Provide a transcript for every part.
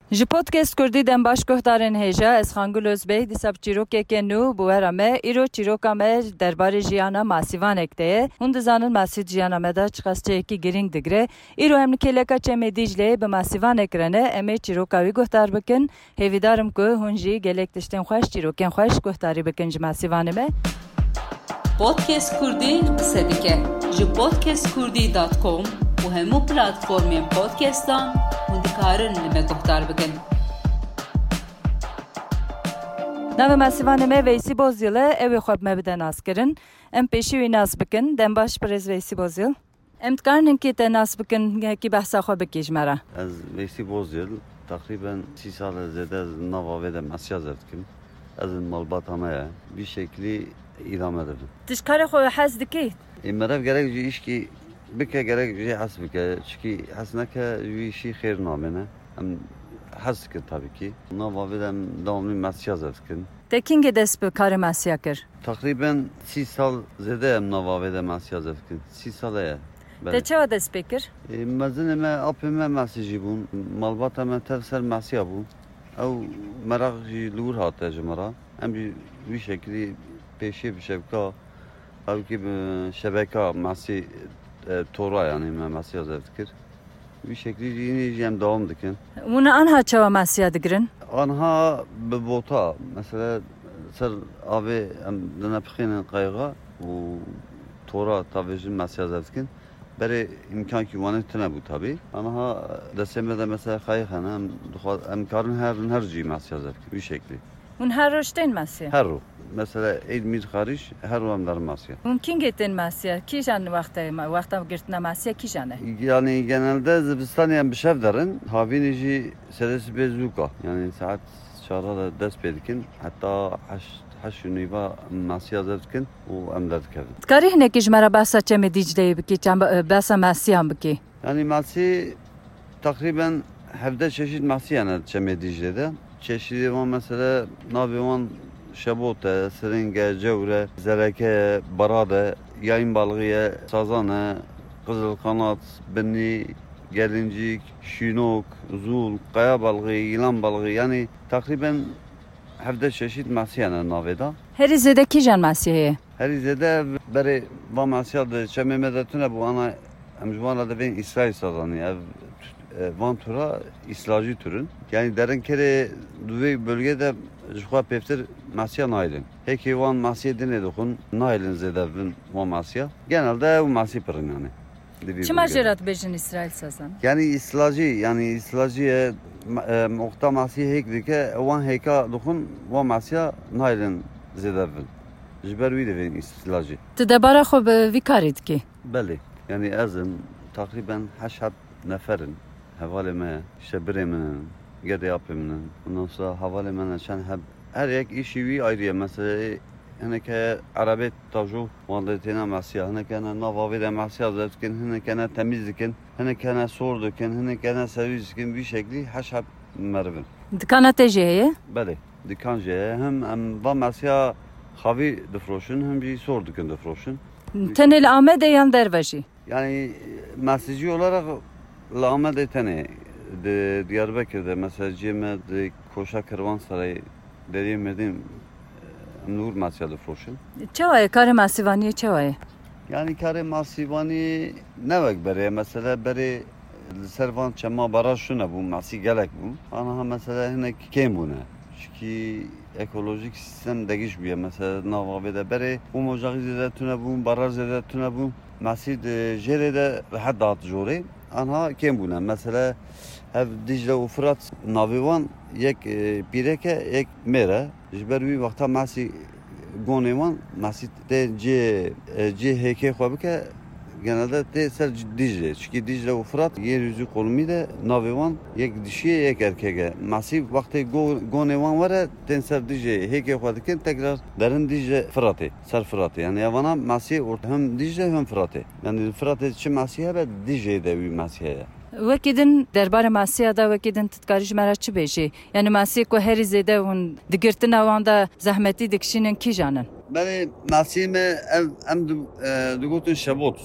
Ji podcast Kurdî dembaş guhdarên hêja ez Xangul Özbey dîsa çîrokeke nû bi wera me îro çîroka me derbarê jiyana masîvanek de ye. Hûn dizanin masîv jiyana me da çi qasteyekî girîng digire. Îro em li kêleka Çemê Dîcleyê bi masîvanek re ne em ê çîroka wî guhdar bikin. Hêvîdarim ku hûn jî gelek tiştên xweş çîrokên xweş guhdarî bikin ji masîvanê me. Podcast Kurdî qise dike ji podcastkurdî.com û hemû platformên podcastan hûn dikarin li me guhdar bikin. Navê masîvanê me Veysî Bozyil e, ew ê xwe bi me bide naskirin. Em pêşî wî nas bikin. Dembaş Pirêz Veysî Bozyil. Em dikarin hinkî te nas bikin, hekî behsa xwe bikî ji me re. Ez Veysî Bozyil, takriben 3 sal zêde ez nava wê de mesya dikim. Ez malbata me ye, bir şekilî îdame dikim. Tu ji karê xwe hez dikî? Merev gerek jî îşkî bike gerek jî hes bike. Çünkü hes neke wî işî xêr namêne. Em hez dikin tabii ki. Nava wê de em devamlî mesya dikin. Te kîngê dest bi karê mesiya kir? Takriben 3 sal zêde em nava wê de mesya dikin. 3 sal ye. Te çawa dest pê kir? Mezinê me apê me mesîjî bûn. Malbata me tev ser mesya bû. Ew merak jî li wir hate ji me re. Em jî wî şekilî pêşê bi şevka evkî bi şebeka mesî tora yani me mesya dikir. Wî şekilî yine jî em devam dikin. Hûn anha çawa mesiya digirin? Anha bi bota mesela ser avê em dinepixînin qayğa û tora tavê jî mesya dikin. Berê imkan ki wanê tune bû tabii. Anha destê me de mesela qayıq hene em karin her cî mesya dikin wî şeklî. Hûn her roj tên mesiya? Her ro. Mesela Eid Mir xariç her ro em derin mesya. Hûn kîngê tên mesiya? Kîjan wexta girtina mesiya kîjan e? Yani genelde zibistanê em bi şev derin. Havînê jî sedesî bê zûka. Yani saat 4 da dest pê dikin. Heta heş û nîva mesya dikin û em derdikevin. Dikarî hinekî ji me re behsa Çemê Dîcleyê bikî, behsa mesiyan bikî? Yani mesî takriben hevde çeşit mesî hene Çemê Dîcley'de. Çeşidi wan mesela navê wan şebot e, siringe, cewre, zereke, barade, yayın balığı ye, sazan e, kızıl kanat, binni, gelincik, şinok, zul, kaya balığı, yılan balığı yani takriben hevde çeşit mesî hene navê da. Herî zêde kîjan mesiya ye? Herî zêde berê van mesîya de Çemê me de tune bû ana em ji wan re divên İsrail sazanî ev van tura İslacî türün. Yani derin kere duvê bölgede ji xwe pêvtir mesiya nailin. Hekî wan mesiyê dinê dixwin nailin zêde bin wan mesiya. Genelde ew mesî pirin yani. Çima jê re dibêjin İsrail sazan? Yani İslacî muxta mesî hêk dike wan hêka dixwin wan mesiya nailin zêde bin. Ji ber wî divên İslacî. Tu debara xwe bi vî karî dikî? Belê. Yani ezin takriben heşt neferin. Hevalê me, işte birê min, gedê apê min. Ondan sonra hevalê me çend heb her yek îşî wî ayrı ye. Mesela hineke erebê tavjo wan de têne mesiya, hineke hene nava wê de mesiya dikin, hineke hene temiz dikin, hineke hene sor dikin, hineke hene servis dikin wî şeklî heşt merivin. Dikana te jê heye? Belê, dikan jê ye. Hem em van mesiya xavî difroşin, hem jî sor dikin difroşin. Tenê li Amedê yan derve jî? Yani mesajcı olarak Lahmedê tenê di Diyarbakır'da mesajcı me di Koşa Kervansarayı deriyê medin nur mesya difroşin. Çawa ye karê masîvaniyê çawa ye? Yani karê masîvanî nevek berê mesela berê li ser van çema baraj şune bû mesî gelek bû. Aniha mesela hinek kêm bûne. Çünkü ekolojik sistem değiş bûye mesela nava wê de berê homojaxî zêde tune bûn, baraj zêde tune bûn. Mesî di jêrê de rehet dat jorê. Anha kêm bûne. Mesela ev Dicle û Fırat navê wan yek pîreke yek mêre. Ji ber wî wexta mesî gonê wan mesî tê cê hêkê xwe bike genelde tê ser Dicle. Çünkü Dicle û Fırat yeryüzü kolumî de navê wan yek dişiye yek erkeke. Mesî wextê gonê wan were tên ser Dicleyê hêkê xwe dikin tekrar derin Dicle Fıratê ser Fıratê. Yani evana mesî hem Dicle hem Fıratê. Yani Fıratê çi mesî hebe Dicleyê de wî mesî heye. Wekî din derbarê mesiya da wekî din tu dikarî ji me re çi bêjî? Yani mesî ku herî zêde hûn digirtina wan da zehmetî dikişînin kîjan in? Berê mesî me em digotin şebot.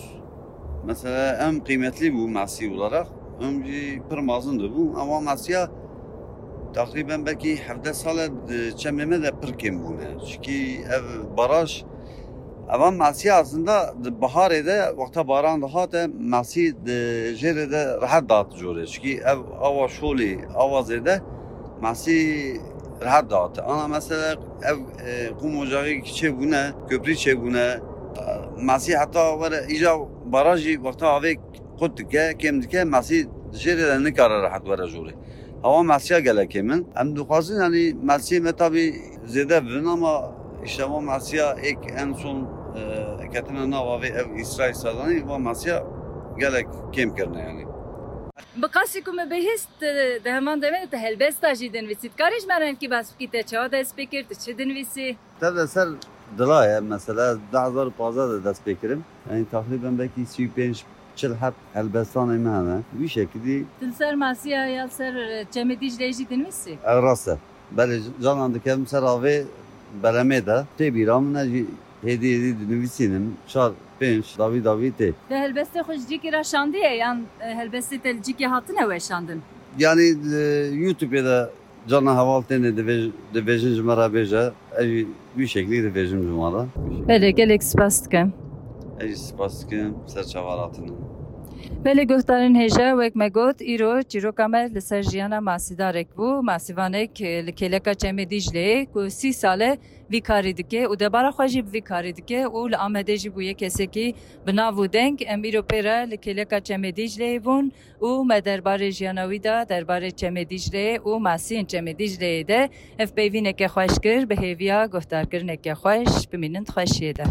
Mesela em kıymetli bu mesî olarak. Hem jî pir mezin dibû. Ama mesiya Takriben belki 17 sale çememe de pırkem bune. Çünkü ev baraj Ama masi aslında baharda vakta baran daha da masi jere rahat dağıtı jore. Çünkü ev ava şoli avazede masi rahat dağıtı. Ana mesela ev kum ocağı kiçe bune, köprü çe bune. Masi hatta var ica barajı vakta ave kutke kemdike masi jere ne kadar rahat var jore. Hava masiye gelek hemen. Hem duazın yani masiye tabi zede bin ama işte o masiye ek en son ketine nava ve ev İsrail sadani ve masiye gelek kem kerne yani. بقاسكم بهست دهمان دمت هلبستا جدن ويسيت كاريش مرن كي بس كي تشا داس بيكر تشدن ويسي Tabii ser dilaya mesela 2015 dest bekirim. Yani takriben belki 35 hep Elbistan emane. Bir şekilde تنسر ماسيا يا سر جمديج ليجدن ويسي Evras'ta. Böyle canlandık hem ser abi belemede. Tebiram ne hediye nüvisinim. Şar penç David te. ده هلبستا خوش جيكي را شانديه يعني هلبستا تلجيكي هاتن هوا شاندن Yani YouTube'da canlı havaltene de vejin merabeja. Bir şekilde vejin cumala. بله گلک سپاس دکم سپاس که سرچاوالاتونه. بله گفتارن هجا وک مگوت ایرو چیروکامل لسر جیانا ماسیدارک بو ماسیوانک لکلکا چمه دیجله کو 30 ساله وی کاری دکه و دبارا خواجی وی کاری دکه و لآمده جی بویه کسی که بناو دنگ ام ایرو پیرا لکلکا چمه دیجله بون و مدربار جیاناوی دا دربار چمه دیجله و ماسین چمه دیجله ده اف بیوینه که خوش کر به هیویا گفتار کرنه که خوش بمینند خوشیه ده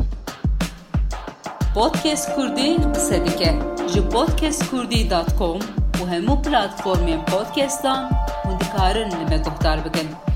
Podcast Kurdi qise dike ji podcastkurdi.com û hemû platformên podcastan hûn dikarin li me guhdar bikin.